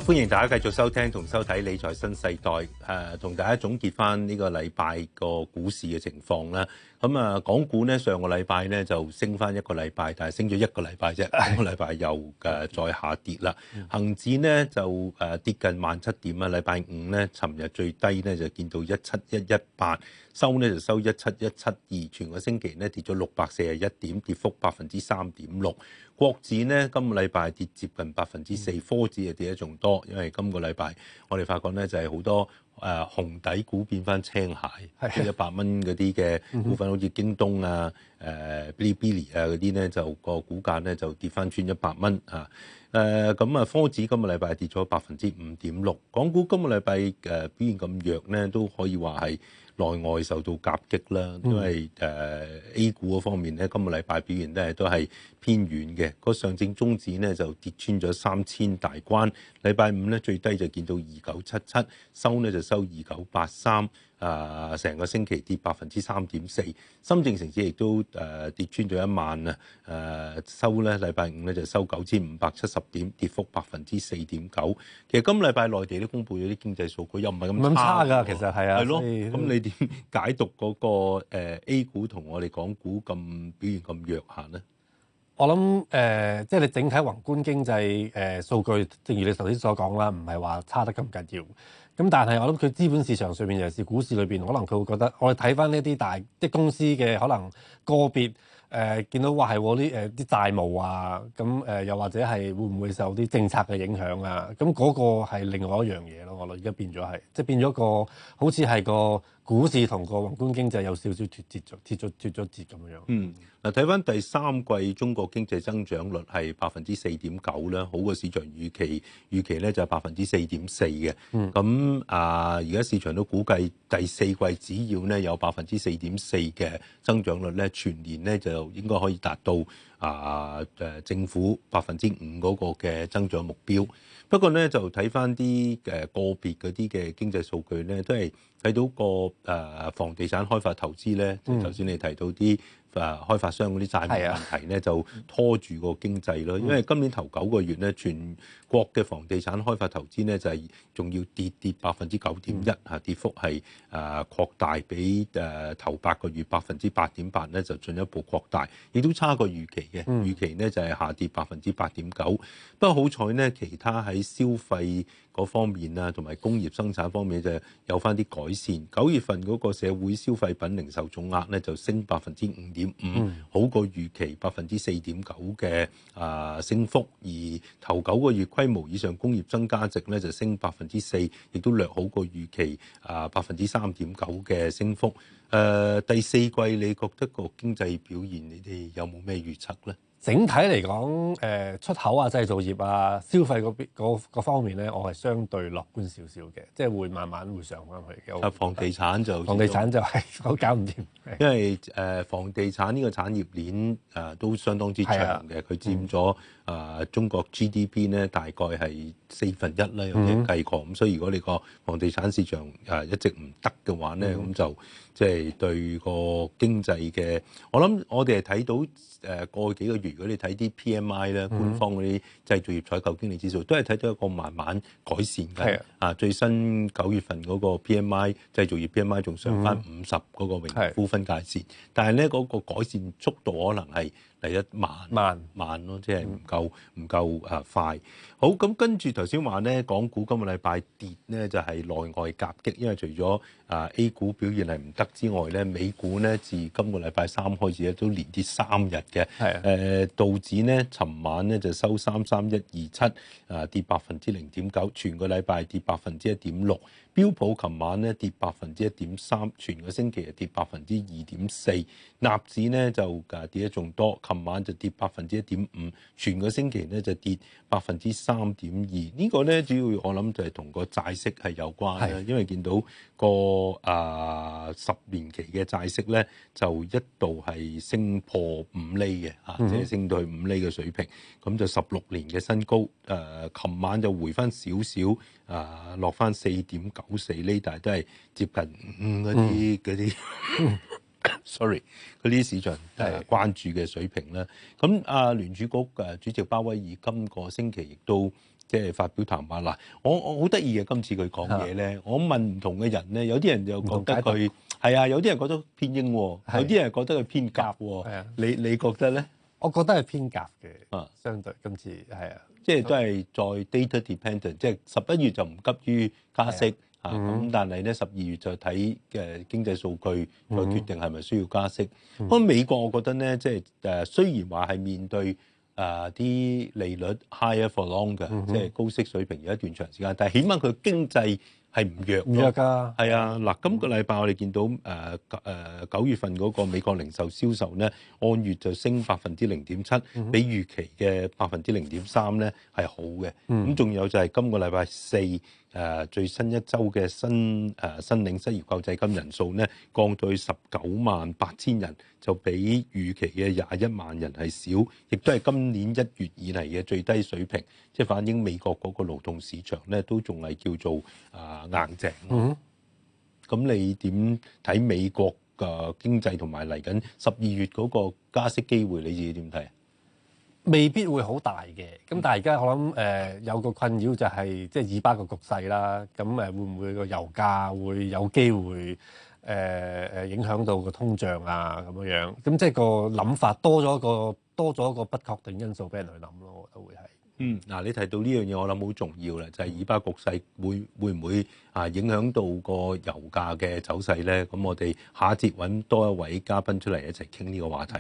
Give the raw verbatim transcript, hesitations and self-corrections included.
歡迎大家繼續收聽同收睇理財新世代，誒、呃、同大家總結翻呢個禮拜個股市嘅情況啦。咁啊，港股呢上個禮拜呢就升翻一個禮拜，但係升咗一個禮拜啫，今個禮拜又誒、呃、再下跌啦。恒指呢就誒、呃、跌近萬七點啊，禮拜五呢，尋日最低呢就見到一七一一八，收呢就收一七一七二，全個星期呢跌咗六百四十一點，跌幅百分之三點六。國指呢今個禮拜跌接近百分之四，科指就跌得仲多，因為今個禮拜我哋發覺呢就係好多誒、呃、紅底股變翻青蟹，即係一百蚊嗰啲嘅股份，好似京東啊、誒 Bilibili 啊嗰啲呢，就個股價呢就跌翻穿一百蚊啊。誒咁啊，科指今個禮拜跌咗百分之五點六，港股今個禮拜誒表現咁弱呢，都可以話係內外受到夾擊啦。因為誒、呃、A 股嗰方面咧，今個禮拜表現咧都係偏軟嘅。個上證綜指咧就跌穿咗三千大關，禮拜五咧最低就見到二九七七，收咧就收二九八三。啊！成個星期跌百分之三點四，深證成指亦都誒、呃、跌穿咗一萬啊！誒、呃、收咧禮拜五咧就收九千五百七十點，跌幅百分之四點九。其實今禮拜內地都公布咗啲經濟數據，又唔係咁差㗎。其實係啊， 係咯。咁你點解讀嗰、那個、呃、A 股同我哋港股咁表現咁弱下呢？ 我諗誒、呃，即係你整體宏觀經濟誒、呃、數據，正如你頭先所講啦，唔係話差得咁緊要。咁但係我諗佢資本市場上面，尤其是股市裏邊，可能佢會覺得，我哋睇翻呢啲大啲公司嘅可能個別誒、呃，見到話係啲誒啲債務啊，咁誒、呃、又或者係會唔會受啲政策嘅影響啊？咁嗰個係另外一樣嘢咯。我諗而家變咗係，即係變咗個好似係個股市同個宏觀經濟有少少脫節咗，脫咗脫咗節咁樣。 嗯。嗱，睇翻第三季中國經濟增長率係百分之四點九啦，好過市場預期，預期咧就係百分之四點四嘅。咁、嗯、啊，而家市場都估計第四季只要咧有百分之四點四嘅增長率咧，全年咧就應該可以達到啊誒政府百分之五嗰個嘅增長目標。不過咧就睇翻啲誒個別嗰啲嘅經濟數據咧，都係睇到個誒房地產開發投資咧，就頭先你提到啲。誒開發商嗰啲債務問題咧，就拖住個經濟咯。因為今年頭九個月咧，全國嘅房地產開發投資咧就係仲要跌跌百分之九點一嚇，跌幅係誒擴大，比誒頭八個月百分之八點八咧就進一步擴大，亦都差過預期嘅。預期咧就係下跌百分之八點九。不過好彩咧，其他喺消費嗰方面啊，同埋工業生產方面就有翻啲改善。九月份嗰個社會消費品零售總額咧就升百分之五點五，好過預期百分之四點九嘅啊升幅。而頭九個月規模以上工業增加值咧就升百分之四，亦都略好過預期啊百分之三點九嘅升幅。誒、呃、第四季你覺得個經濟表現你哋有冇咩預測咧？ 整體嚟講，誒出口啊、製造業啊、消費嗰邊嗰嗰方面咧，我係相對樂觀少少嘅，即係會慢慢會上翻去嘅。 啊，房地產就房地產就係我搞唔掂， 因為誒、呃、房地產呢個產業鏈誒、呃、都相當之長嘅，佢佔咗誒中國 G D P 咧大概係四分一啦，有啲計過。咁、嗯、所以如果你個房地產市場誒、呃、一直唔得嘅話咧，咁、嗯、就即係、就是、對個經濟嘅，我諗我哋係睇到誒過去幾個月，如果你睇啲 P M I 咧，官方嗰啲製造業採購經理指數，都係睇到一個慢慢改善嘅。啊，最新九月份嗰個 P M I 製造業 P M I 仲上翻五十嗰個榮枯分界線，但係咧嗰個改善速度可能係嚟得慢慢慢咯，即係唔夠唔夠啊快。好，咁跟住頭先話咧，港股今個禮拜跌咧就係內外夾擊，因為除咗啊 A 股表現係唔得之外咧，美股咧自今個禮拜三開始咧都連跌三日嘅。係誒道指咧，尋晚咧就收三三一二七，啊跌百分之零點九，全個禮拜跌百分之一點六。標普琴晚咧跌百分之一點三，全個星期係跌百分之二點四。納指咧就誒跌得仲多，琴晚就跌百分之一點五，全個星期咧就跌百分之三點二。呢個咧主要我諗就係同個債息係有關啦，因為見到個啊十年期嘅債息咧就一度係升破五厘嘅嚇，即係升到去五厘嘅水平，咁就十六年嘅新高。誒、呃，琴晚就回翻少少，啊落翻四點九四厘，但係都係接近五嗰啲嗰啲。嗯 sorry， 嗰啲市場誒關注嘅水平啦。咁啊聯儲局誒主席鮑威爾今個星期亦都即係發表談話嗱，我我好得意嘅今次佢講嘢咧，我問唔同嘅人咧，有啲人就覺得佢係啊，有啲人覺得偏鷹，有啲人覺得佢偏鴿喎。你你覺得咧？ 我覺得係偏鴿嘅，啊，相對今次係啊， 即係都係在 data dependent，即係十一月就唔急於加息啊，咁但係咧十二月就睇嘅經濟數據再決定係咪需要加息。不過美國我覺得咧，即係誒雖然話係面對誒啲利率 higher for longer，即係高息水平有一段長時間，但係起碼佢經濟係唔弱唔弱㗎， 係啊！嗱，今個禮拜我哋見到誒誒九月份嗰個美國零售銷售咧，按月就升百分之零點七，比預期嘅百分之零點三咧係好嘅。咁仲、嗯、有就係今個禮拜四誒、呃、最新一周嘅新誒申領失業救濟金人數咧降到去十九萬八千人，就比預期嘅廿一萬人係少，亦都係今年一月以嚟嘅最低水平，即係反映美國嗰個勞動市場咧都仲係叫做啊、呃、硬淨。嗯，咁你點睇美國嘅經濟同埋嚟緊十二月嗰個加息機會？你自己點睇？ 未必會好大嘅，咁但係而家我諗誒、呃、有個困擾就係即係以巴個局勢啦，咁誒會唔會個油價會有機會誒誒、呃、影響到個通脹啊咁樣樣，咁即係個諗法多咗個多咗個不確定因素俾人去諗咯，我覺得會係。嗯， 嗱，你提到呢樣嘢，我諗好重要啦，就係、是、以巴局勢會會唔會啊影響到個油價嘅走勢咧？咁我哋下一節揾多一位嘉賓出嚟一齊傾呢個話題。